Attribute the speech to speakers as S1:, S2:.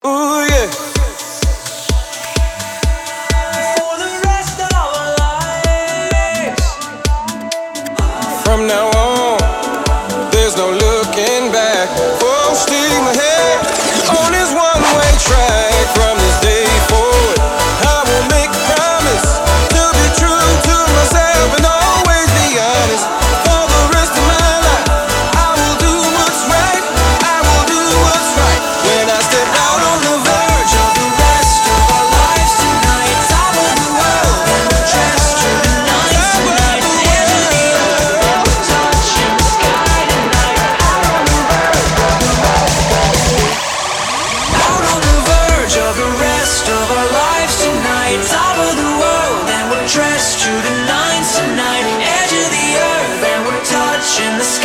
S1: Ooh, yeah.
S2: For the rest of our lives.
S1: From now on, there's no looking back. Full steam ahead on this one-way track. From this day forward, I will make a promise to be true to myself and always be honest. For the rest of my life, I will do what's right. I will do what's right. When I step out on the verge of the rest of our lives tonight, top of the world, and we'll trust through the night tonight. Edge of the earth, touching the sky tonight. Out on the verge of the rest of our lives tonight, top of the world, and we're dressed through the nines tonight. Edge of the earth, and we're touching the sky.